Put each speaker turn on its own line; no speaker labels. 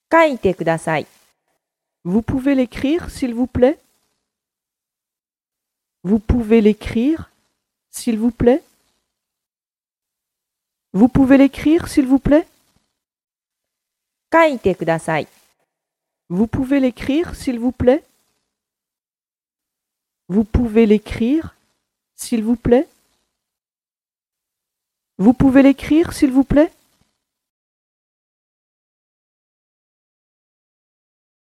書いてください。
Vous pouvez l'écrire, s'il vous plaît? Vous pouvez l'écrire, s'il vous plaît? Vous pouvez l'écrire, s'il vous plaît?
書いてください。
Vous pouvez l'écrire, s'il vous plaît? Vous pouvez l'écrire, s'il vous plaît? Vous pouvez l'écrire, s'il vous plaît?